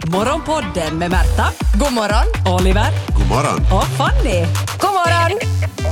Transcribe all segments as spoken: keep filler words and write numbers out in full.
Morgonpodden med Märta. God morgon. Oliver. God morgon. Och Fanny. God morgon.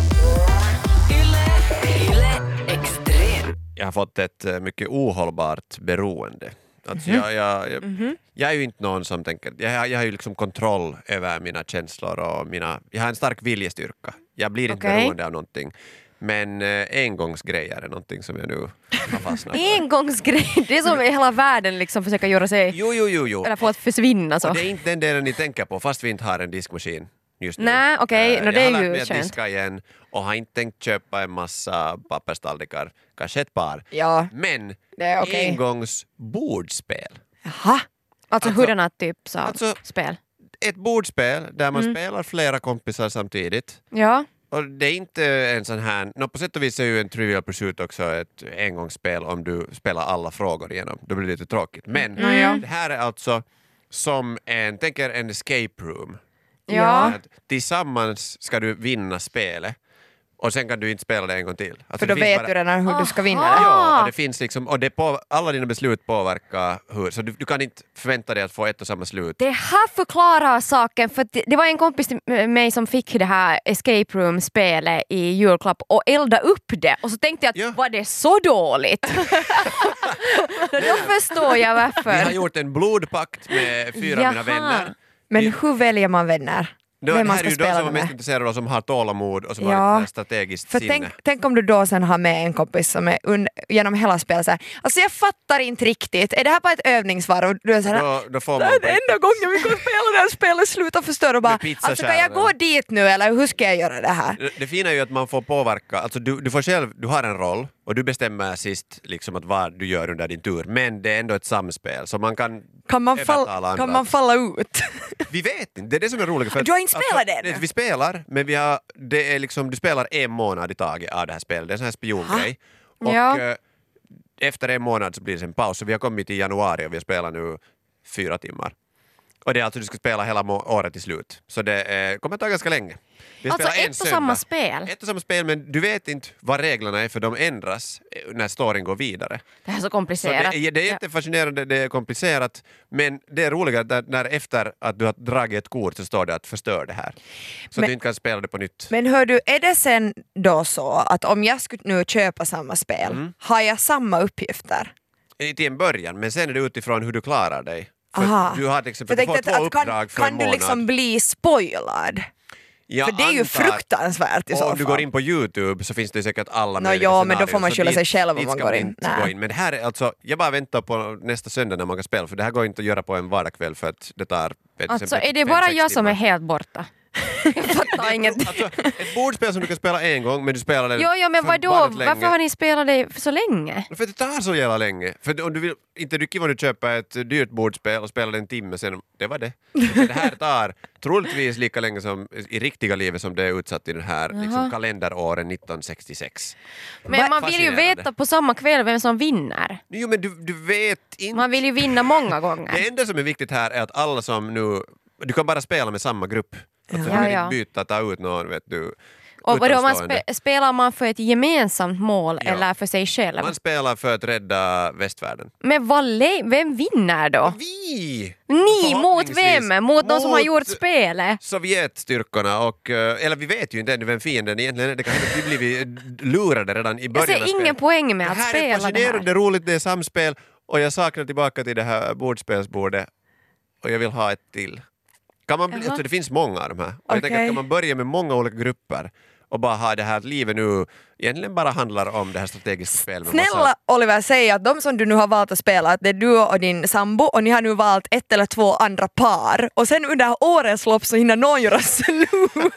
Jag har fått ett uh, mycket ohållbart beroende. Alltså mm-hmm. jag, jag, jag, mm-hmm. jag är ju inte någon som tänker... Jag, jag har ju liksom kontroll över mina känslor och mina... Jag har en stark viljestyrka. Jag blir inte okay. beroende av någonting. Men uh, engångsgrejer är någonting som jag nu har fastnat för. Engångsgrejer? Det är som i hela världen liksom försöka göra sig... Jo, jo, jo, jo. Eller få att försvinna så. Och det är inte den delen ni tänker på, fast vi inte har en diskmaskin just nu. Nej, okej. Okay. Uh, no, det är ju skönt. Jag har lärt mig att diska igen och har inte tänkt köpa en massa papperstallrikar. Kanske ett par. Ja. Men det är okay. engångsbordspel. Jaha. Alltså, alltså hurdana typ av alltså, spel? Ett bordspel där man mm. spelar flera kompisar samtidigt. Ja. Och det är inte en sån här... No, på sätt och vis är ju en Trivial Pursuit också ett engångsspel om du spelar alla frågor igenom. Då blir det lite tråkigt. Men mm. det här är alltså som en... Tänker en escape room. Ja. Tillsammans ska du vinna spelet. Och sen kan du inte spela det en gång till. Alltså för då vet bara... du redan hur Aha. du ska vinna det. Ja, och det finns liksom, och det på, alla dina beslut påverkar hur, så du, du kan inte förvänta dig att få ett och samma slut. Det här förklarar saken, för det, det var en kompis till mig som fick det här escape room-spelet i julklapp och elda upp det. Och så tänkte jag att ja. var det så dåligt? Då förstår jag varför. Vi har gjort en blodpakt med fyra Jaha. av mina vänner. Men Vi... hur väljer man vänner? Då, Vem det man här ska är ju de spela som är mest med? intresserade och som har tålamod och som Ja. har ett strategiskt För sinne. tänk, tänk om du då sen har med en kompis som är un, genom hela spelet så här, alltså jag fattar inte riktigt, är det här bara ett övningsvar? Och du är så här, Då, då får det man är den enda gången vi kan spela det här spelet, sluta förstöra och bara, alltså kan jag gå dit nu eller hur ska jag göra det här? Det, det fina är ju att man får påverka, alltså du, du får själv, du har en roll och du bestämmer sist liksom att vad du gör under din tur, men det är ändå ett samspel så man kan Kan man, fall, kan man falla ut? Vi vet inte, det är det som är roligt. För du har inte spelat alltså, det ännu? Vi spelar, men vi har, det är liksom, du spelar en månad i taget av det här spelet, det är en sån här spiongrej. Och ja. äh, efter en månad så blir det en paus, så vi har kommit i januari och vi har spelat nu fyra timmar. Och det är alltså du ska spela hela må- året till slut. Så det eh, kommer att ta ganska länge. Vi alltså spelar en ett och samma spel? Ett och samma spel, men du vet inte vad reglerna är för de ändras när storyn går vidare. Det här är så komplicerat. Så det, det är jättefascinerande, det är komplicerat, men det är roligt att när efter att du har dragit ett kort så står det att förstör det här. Så men, att du inte kan spela det på nytt. Men hör du, är det sen då så att om jag skulle nu köpa samma spel, mm. har jag samma uppgifter? Till en början, men sen är det utifrån hur du klarar dig. För Aha. du har till exempel, för du får två att, uppdrag kan, för kan en månad. du liksom bli spoilad? Jag för det är ju antar, fruktansvärt i så fall. om du går in på YouTube så finns det säkert alla no, möjliga ja, men då scenarier, får man skylla sig dit, själv om man går in. gå in. Men det här är alltså, jag bara väntar på nästa söndag när man kan spela, för det här går inte att göra på en vardagskväll för att det tar... Vet, alltså fem, är det fem, bara sex jag som timmar. är helt borta? Jag fattar inget. Alltså, ett bordspel som du kan spela en gång, men du spelar det Jo, jo, men vadå? Varför har ni spelat det så länge? För det tar så jävla länge. För om du vill, inte rycker vad du köper ett dyrt bordspel och spelar det en timme sen, det var det. För det här tar troligtvis lika länge som i riktiga livet som det är utsatt i den här liksom, kalenderåren nitton sextiosex. Men man vill ju veta på samma kväll vem som vinner. Jo, men du, du vet inte. Man vill ju vinna många gånger. Det enda som är viktigt här är att alla som nu, du kan bara spela med samma grupp. Alltså, Ja, du kan ja. inte byta, ta ut någon, vet du. Och vadå, man utomstående. spe, spelar man för ett gemensamt mål Ja. eller för sig själv? Man spelar för att rädda västvärlden. Men vad le- vem vinner då? Vi! Ni mot Förhoppningsvis vem? Mot de som har mot gjort spelet? Sovjetstyrkorna och, eh, eller vi vet ju inte ännu vem fienden egentligen är. Det kan hända att vi blir lurade redan i Jag början av ser spelet. ingen poäng med Det att här är spela det fascinerande, här. roligt, det är samspel och jag saknar tillbaka till det här bordspelsbordet och jag vill ha ett till. Kan man bli, Jaha. alltså det finns många av de här. Och jag Okej. tänker att kan man börja med många olika grupper och bara ha det här att livet nu egentligen bara handlar om det här strategiska spelet. med Snälla massa- Oliver, säg att de som du nu har valt att spela, att det är du och din sambo och ni har nu valt ett eller två andra par och sen under årets lopp så hinner någon göra slut.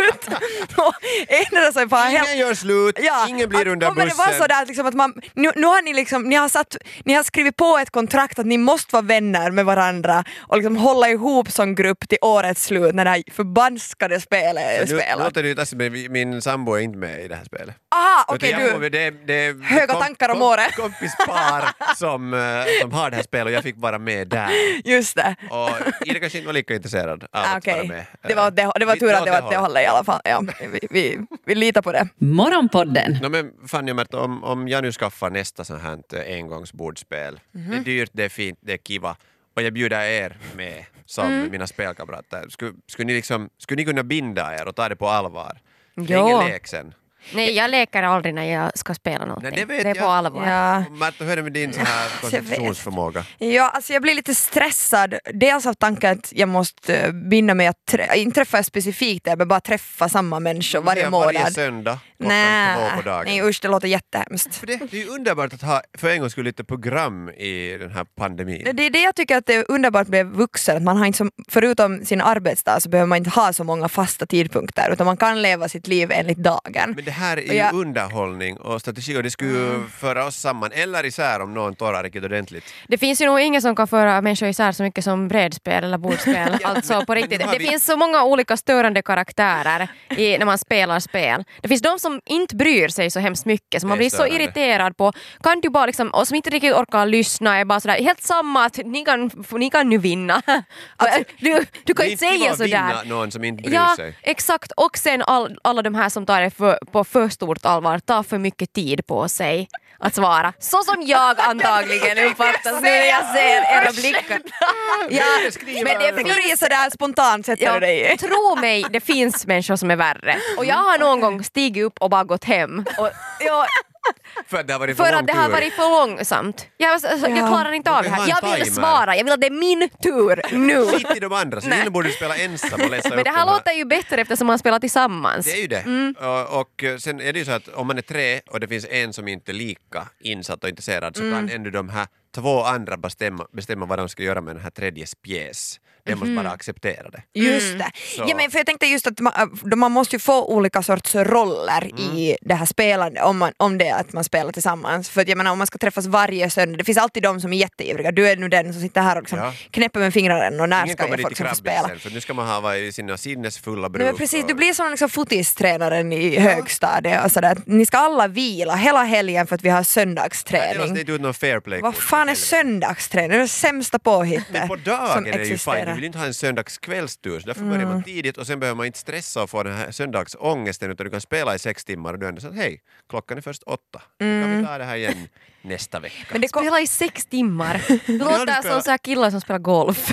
Och ändra sig på Ingen helt... gör slut, Ja, ingen blir att under kommer bussen. det vara så där, att liksom att man, nu, nu har ni liksom, ni har, satt, ni har skrivit på ett kontrakt att ni måste vara vänner med varandra och liksom hålla ihop som grupp till årets slut när det här förbanskade spelet är Nu spelat. låter det ju taskigt, men min sambo är inte med i det här spelet. Aha, okej Utan jag du. får- det, det, Höga tankar om året. kompispar som, eh, som har det här spelet och jag fick vara med där. Just det. Och Ida kanske inte var lika intresserad av Ah, att vara okej. med. Det var, det, det var Lite tur åt att det var det hållet i alla fall. Ja, vi, vi, vi litar på det. Morgonpodden. No, men Fanny och Märta, om, om jag nu skaffar nästa sån här engångsbordspel, Mhm. det är dyrt, det är fint, det är kiva. Och och jag bjuder er med som Mm. mina spelkamrater. Skulle, skulle, ni liksom, skulle ni kunna binda er och ta det på allvar? Det är Jo. ingen lek sen. Nej, jag leker aldrig när jag ska spela någonting. Nej, det vet är jag. på allvar. Ja. Märta, hur är det med din så här koncentrationsförmåga? Ja, alltså jag blir lite stressad. Dels av tanken att jag måste eh, binda mig att trä- inte träffa specifikt det, men bara träffa samma människor varje Det är månad. Varje söndag klockan Nej, två på dagen. nej usch, det låter jättehemskt. För det, det är ju underbart att ha för en gång skulle lite program i den här pandemin. Det är det jag tycker att det är underbart med vuxen, att man har inte som, förutom sin arbetsdag så behöver man inte ha så många fasta tidpunkter utan man kan leva sitt liv enligt dagen. Men det här är Och ju jag- underhållning och strategi och det skulle ju Mm. föra oss samman eller isär om någon torrar riktigt ordentligt. Det finns ju nog ingen som kan föra människor isär så mycket som brädspel eller bordspel. Alltså på riktigt. nu har Det vi- finns så många olika störande karaktärer i, när man spelar spel. Det finns de som inte bryr sig så hemskt mycket, som man Det är blir så störande. irriterad på. Kan du bara liksom, och som inte riktigt orkar lyssna, är bara sådär, helt samma att ni kan, ni kan nu vinna. Alltså, du, du kan Det är inte inte säga kiva att vinna sådär. någon som inte bryr Ja, sig. exakt. Och sen all, alla de här som tar det för, på för stort allvar, tar för mycket tid på sig att svara. Så som jag antagligen uppfattas nu när jag ser era blickar. Ja, men det Tänker du sådär spontant sätter Ja, du dig i? tro mig, det finns människor som är värre. Och jag har någon gång stigit upp och bara gått hem. Och, ja, För att det har varit för, för lång att det har tur. varit för långsamt. Jag, alltså, jag Ja. klarar inte av det Vi har här. en Jag vill timer. svara, jag vill att det är min tur nu. Skit i de andra, så nu borde du spela ensam och läsa Men upp det här de låter ju bättre eftersom man spelar tillsammans. Det är ju det. Mm. Och, och sen är det ju så att om man är tre och det finns en som inte är lika insatt och intresserad så Mm. kan ändå de här två andra bestämma, bestämma vad de ska göra med den här tredjes pjäs. De måste Mhm. bara acceptera det. Just det. Så. Ja, men för jag tänkte just att man, man måste ju få olika sorts roller i det här spelandet om, man, om det är att man spelar tillsammans. För att jag menar om man ska träffas varje söndag, det finns alltid de som är jätteivriga. Du är nu den som sitter här och liksom Ja. knäpper med fingrarna och när Ingen ska kommer jag dit få i liksom få spela? krabbisen för nu ska man ha varit i sina sinnesfulla bruk. Nej, men precis, och- du blir som liksom fotistränaren i högstadiet och sådär. Ni ska alla vila hela helgen för att vi har Nej, det söndagsträning. måste inte ut någon fair play. Vad fan är söndagsträning? Det är det sämsta påhittet Men på som dagen är det ju fine, existerar. du vill inte ha en söndagskvällstur så därför börjar man tidigt och sen behöver man inte stressa och få den här söndagsångesten utan du kan spela i sex timmar och du ändå så att hej, klockan är först åtta. Nu kan vi ta det här igen nästa vecka. Men det kom, Spela i sex timmar. Det du låter spelat- som så här killar som spelar golf.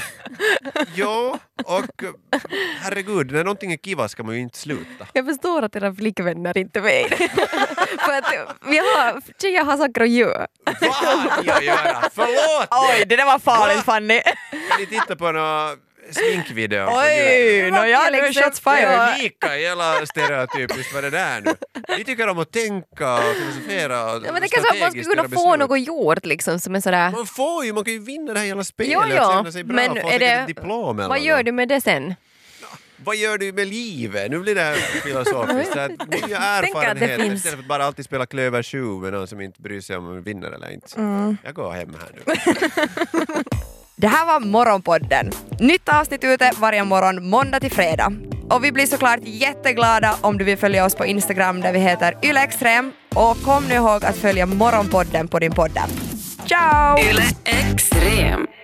Jo, och herregud, när någonting är kiva ska man ju inte sluta. Jag förstår att era flickvänner inte vet. För att vi har, tjejer har saker att göra. Vad har ni att göra? Förlåt! oj, det där var farligt Fanny. Kan ni titta på några sminkvideo? på Oj, YouTube? no, ja, nu är shots Det fired. är lika jävla stereotypiskt vad det där nu. Vi tycker om att tänka och filosofera och Ja, men det kanske att man skulle strategiskt kunna göra få beslut. något gjort liksom som är sådär. Man får ju, man kan ju vinna det här jävla spelet Jo, och jo, känna sig bra men och få är säkert det, ett diplom eller vad gör något. du med det sen? Vad gör du med livet? Nu blir det här filosofiskt. Så att nya erfarenheter finns- istället för att bara alltid spela klöver sju med någon som inte bryr sig om man vinner eller inte. Mm. Jag går hem här nu. Det här var Morgonpodden. Nytt avsnitt ute varje morgon måndag till fredag. Och vi blir såklart jätteglada om du vill följa oss på Instagram där vi heter ylextrem. Och kom nu ihåg att följa Morgonpodden på din podd. Ciao! Yle Extrem.